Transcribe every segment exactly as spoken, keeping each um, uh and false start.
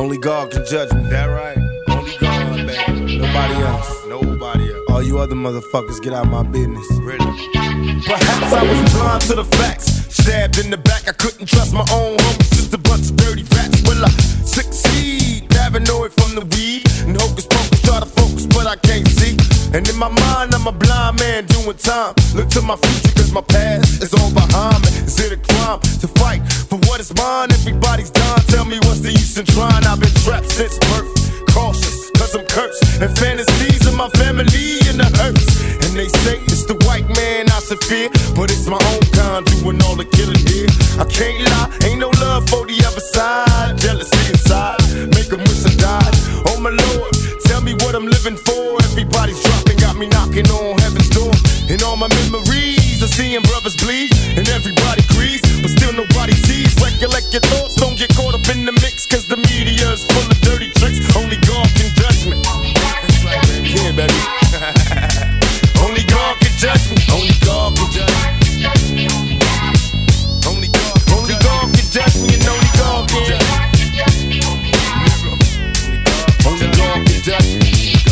Only God can judge me. That right? Only God, baby. Nobody else. Nobody else. All you other motherfuckers, get out my business. Really? Perhaps I was blind to the facts. Stabbed in the back, I couldn't trust my own homies. Just a bunch of dirty rats. Will I succeed? Paranoid from the weed. And hocus pocus, try to focus, but I can't see. And in my mind, I'm a blind man doing time. Look to my future, cause my past is all behind me. Is it a crime to fight for what is mine? Everybody's dying, tell me what's the use in trying? I've been trapped since birth, cautious, cause I'm cursed. And fantasies of my family in the hearse. And they say it's the white man I should fear, but it's my own kind doing all the killing here. I can't lie, ain't no love for the other side. Jealousy inside, make them wish I died. Oh my Lord, tell me what I'm living for. Everybody's dropping, got me knocking on heaven's door. And all my memories of seeing brothers bleed, and everybody agrees, but still nobody sees. Recollect your thoughts, don't get caught up in the mix, cause the media is full of dirty tricks. Only God can judge me. Yeah, baby. Only God can judge me. Only God can judge me. Only God, only God can judge me, and only God can judge me. Only God can judge me.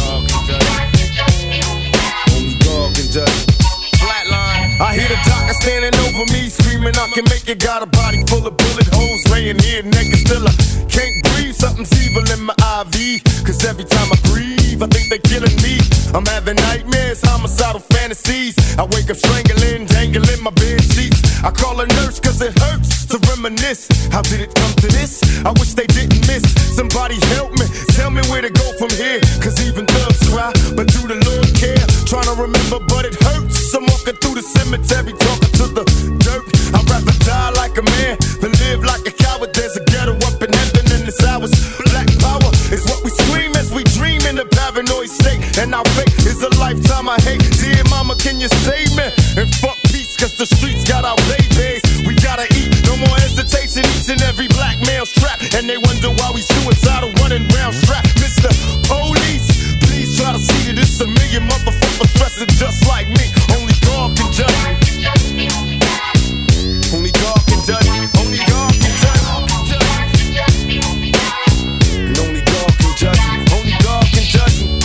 Only God can judge me. Flatline. I hear the doctor standing over me, screaming I can make it. Got a body full of bullet holes, laying here naked. Still I can't breathe. Something's evil in my I V. Cause every time I breathe, I think they're killing me. I'm having nightmares, homicidal fantasies. I wake up strangling, dangling my bed sheets. I call a nurse cause it hurts to reminisce. How did it come to this? I wish they didn't miss. Somebody help me, tell me where to go from here. Cause even thugs cry, but do the Lord care? Trying to remember, but it hurts. I'm walking through the cemetery, talking to the dirt. I'd rather die like a man than live like a coward. There's a ghetto up in heaven and it's ours. Black power is what we scream as we dream in a paranoid state. And our fate is a lifetime I hate. Dear mama, can you save me? And fuck peace, cause the streets got our babies. We gotta eat, no more hesitation. Each and every black male strapped. And they wonder why we suicidal running round strapped. Mister Police, please try to see that it's a million motherfuckers dressing just like me. Only God can judge me. Only God can judge me. Only God can judge me. And only God can judge me. Only God can judge me.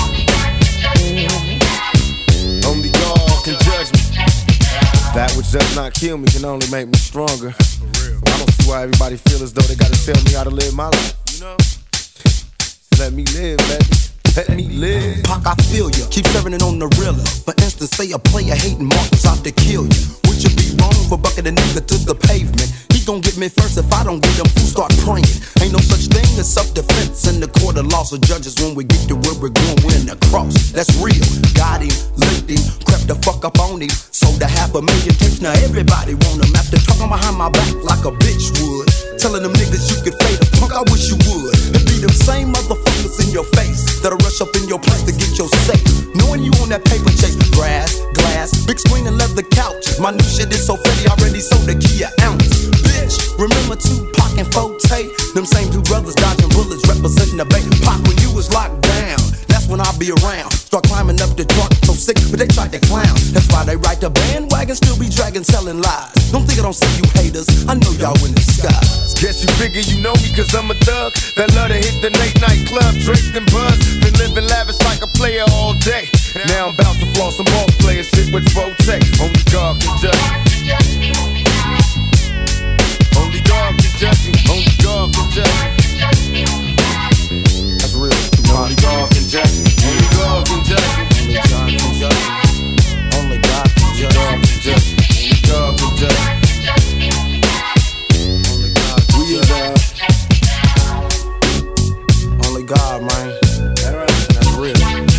Only God can judge me. That which does not kill me can only make me stronger. I don't see why everybody feel as though they gotta tell me how to live my life. You know? Let me live, baby. Let me live. Pac, I feel ya. Keep serving it on the realer. For instance, say a player hating Marcus out to kill you. Would you be wrong for bucking a nigga to the pavement? He gon' get me first if I don't get him. Fools start praying. Ain't no such thing as self-defense in the court of laws of judges. When we get to where we're going, we're in the cross. That's real. Got him, licked him, crept the fuck up on him. Sold a half a million tapes. Now everybody want him. After talking behind my back like a bitch would. Telling them niggas you could fade us. Punk, I wish you would. It be them same motherfuckers in your face that'll rush up in your place to get your safe. Knowing you on that paper chase. Grass, glass, big screen and leather couches. My new shit is so fatty, already sold a key an ounce. Bitch, remember Tupac and Forte? Them same two brothers dodging bullets representing the Bay. Pac, when you was locked down, that's when I'll be around. Start climbing up the truck, so sick, but they tried to clown. That's why they ride the bandwagon, still be dragging, telling lies. Don't think I don't see you haters, I know y'all in disguise. Guess you figure you know me cause I'm a thug that love to hit the late night club, draped and buzz. Been living lavish like a player all day. Now I'm about to floss some ball player shit with Forte. Only God can judge me. Only God can judge me. Only God can judge me. That's real. Only God can judge me. Only God can judge me. Only God can judge me. Only God can judge me. Only God can judge me. Only God can judge me. Only God, man. That's real.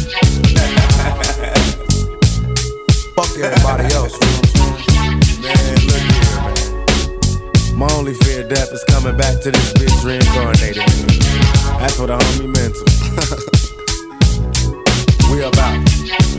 Fuck everybody else, you know what I'm saying? Man, look here, man. My only fear of death is coming back to this bitch reincarnated. That's what a homie meant to. We about.